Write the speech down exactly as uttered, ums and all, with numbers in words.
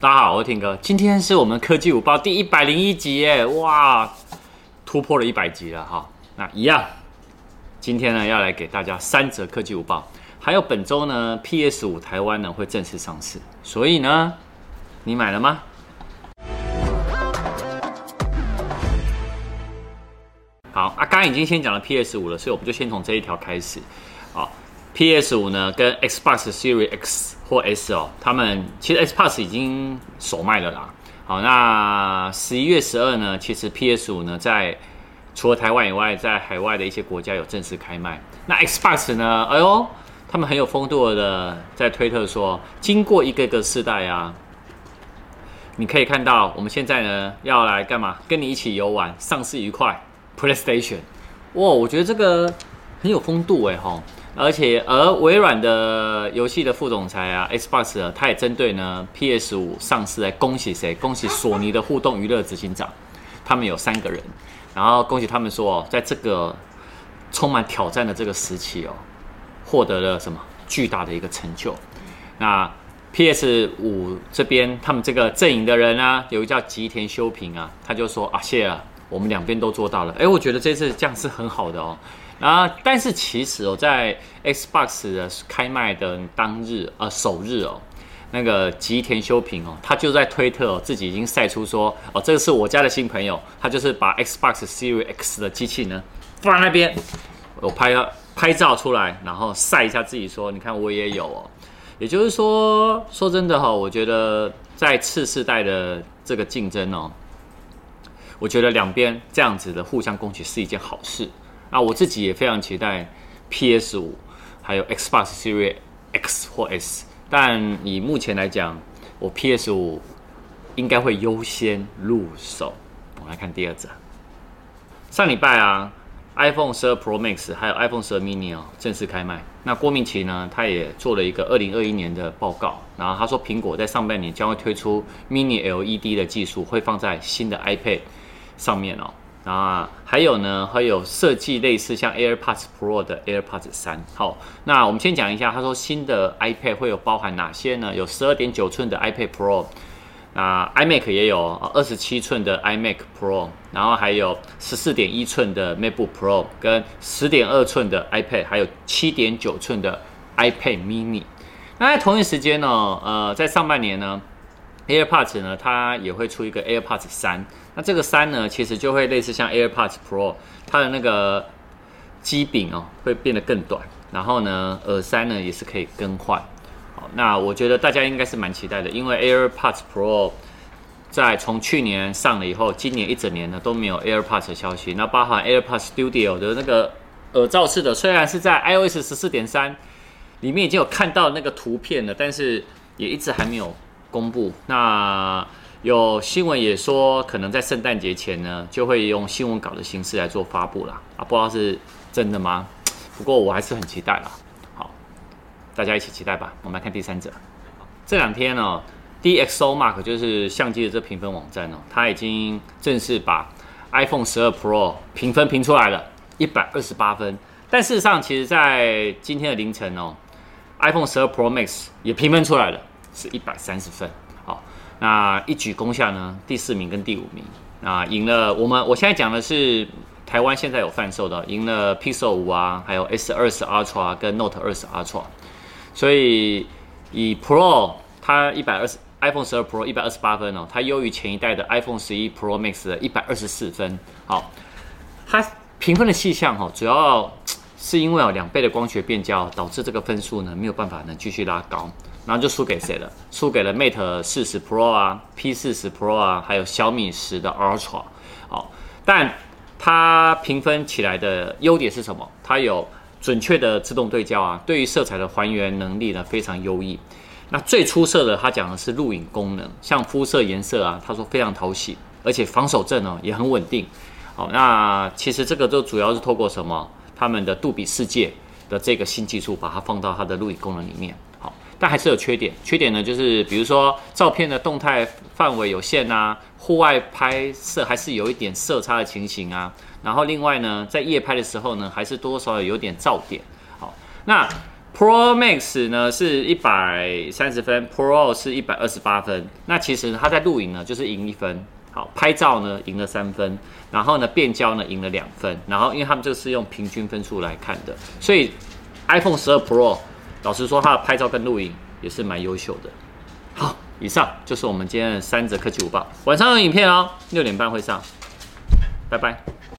大家好，我是听哥，今天是我们科技午报第一百零一集耶，哇，突破了一百集了哈。那一样，今天呢要来给大家三则科技午报，还有本周呢 P S 五 台湾呢会正式上市，所以呢，你买了吗？好啊，刚刚已经先讲了 P S 五 了，所以我们就先从这一条开始。好 ，P S 五 呢跟 Xbox Series X 或 S 哦，他们其实 Xbox 已经首卖了啦。好，那十一月十二呢，其实 P S 五 呢在除了台湾以外，在海外的一些国家有正式开卖。那 Xbox 呢，哎呦，他们很有风度的在推特说，经过一个个世代啊，你可以看到我们现在呢要来干嘛？跟你一起游玩，上市愉快。PlayStation， 哇，我觉得这个很有风度哎哈，而且而微软的游戏的副总裁啊 ，Xbox 啊，他也针对呢 P S 五 上市来恭喜谁？恭喜索尼的互动娱乐执行长，他们有三个人，然后恭喜他们说，在这个充满挑战的这个时期哦，获得了什么巨大的一个成就。那 P S 五 这边他们这个阵营的人啊，有一个叫吉田修平啊，他就说啊，谢了。我们两边都做到了，哎，我觉得这次这样是很好的哦。啊，但是其实哦，在 Xbox 的开卖的当日，呃，首日哦，那个吉田修平哦，他就在推特哦，自己已经晒出说，哦，这个是我家的新朋友，他就是把 Xbox Series X 的机器呢放在那边，我拍拍照出来，然后晒一下自己说，你看我也有哦。也就是说，说真的哈、哦，我觉得在次世代的这个竞争哦。我觉得两边这样子的互相攻击是一件好事啊！我自己也非常期待 P S 五 还有 Xbox Series X 或 S， 但以目前来讲，我 P S 五 应该会优先入手。我们来看第二则，上礼拜啊 ，iPhone 十二 Pro Max 还有 iPhone 十二 mini 哦正式开卖。那郭明錤呢，他也做了一个二零二一年的报告，然后他说苹果在上半年将会推出 Mini L E D 的技术，会放在新的 iPad。上面哦，啊，还有呢，还有设计类似像 AirPods Pro 的 AirPods 三。好，那我们先讲一下，他说新的 iPad 会有包含哪些呢？有 十二点九寸的 iPad Pro， 那 iMac 也有二十七寸的 iMac Pro， 然后还有十四点一寸的 MacBook Pro， 跟十点二寸的 iPad， 还有七点九寸的 iPad Mini。那在同一时间呢，呃，在上半年呢 ，AirPods 呢，它也会出一个 AirPods 三。那这个三呢，其实就会类似像 AirPods Pro， 它的那个机柄哦，会变得更短，然后呢，耳塞呢也是可以更换。好，那我觉得大家应该是蛮期待的，因为 AirPods Pro 在从去年上了以后，今年一整年呢都没有 AirPods 的消息。那包含 AirPods Studio 的那个耳罩式的，虽然是在 iOS 十四点三里面已经有看到那个图片了，但是也一直还没有公布。那有新闻也说，可能在圣诞节前呢，就会用新闻稿的形式来做发布啦。啊，不知道是真的吗？不过我还是很期待啦。好，大家一起期待吧。我们来看第三者。这两天呢、哦、，D X O Mark 就是相机的这评分网站哦，它已经正式把 iPhone 十二 Pro 评分评出来了，一百二十八分。但事实上，其实在今天的凌晨哦 ，iPhone 十二 Pro Max 也评分出来了，是一百三十分。好。那一举攻下呢第四名跟第五名，那赢了我们。我现在讲的是台湾现在有贩售的，赢了 Pixel 五啊，还有 S 二十 Ultra 跟 Note 二十 Ultra。所以以 Pro 它一百二十 iPhone 十二 Pro 一百二十八分哦，它优于前一代的 iPhone 十一 Pro Max 的一百二十四分。好，它评分的细项哈、哦，主要是因为哦两倍的光学变焦导致这个分数呢没有办法呢继续拉高。然后就输给谁了？输给了 Mate 四十 Pro 啊 ，P 四十 Pro 啊，还有小米十的 Ultra。好，但它评分起来的优点是什么？它有准确的自动对焦啊，对于色彩的还原能力呢非常优异。那最出色的，它讲的是录影功能，像肤色颜色啊，他说非常讨喜，而且防守阵哦也很稳定。好，那其实这个就主要是透过什么？他们的杜比世界的这个新技术，把它放到它的录影功能里面。好。但还是有缺点，缺点呢就是比如说照片的动态范围有限啊，户外拍摄还是有一点色差的情形啊。然后另外呢，在夜拍的时候呢，还是多多少少有点噪点。好，那 Pro Max 呢是一百三十分 ，Pro 是一百二十八分。那其实它在录影呢就是赢一分，好，拍照呢赢了三分，然后呢变焦呢赢了两分，然后因为他们这个是用平均分数来看的，所以 iPhone 十二 Pro 老实说它的拍照跟录影也是蛮优秀的。好，以上就是我们今天的三则科技午报，晚上有影片哦，六点半会上，拜拜。